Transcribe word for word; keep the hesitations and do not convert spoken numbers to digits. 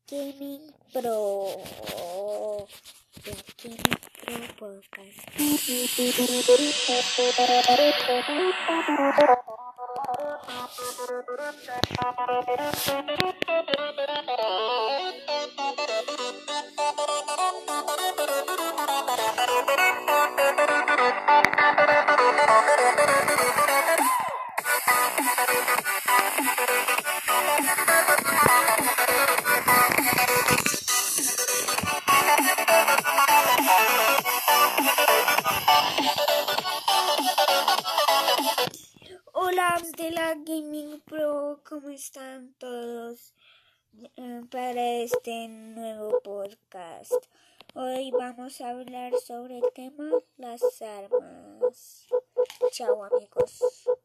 Gaming Pro. La Gaming Pro Podcast. Hola de la Gaming Pro, ¿cómo están todos? Eh, para este nuevo podcast. Hoy vamos a hablar sobre el tema las armas. Chao amigos.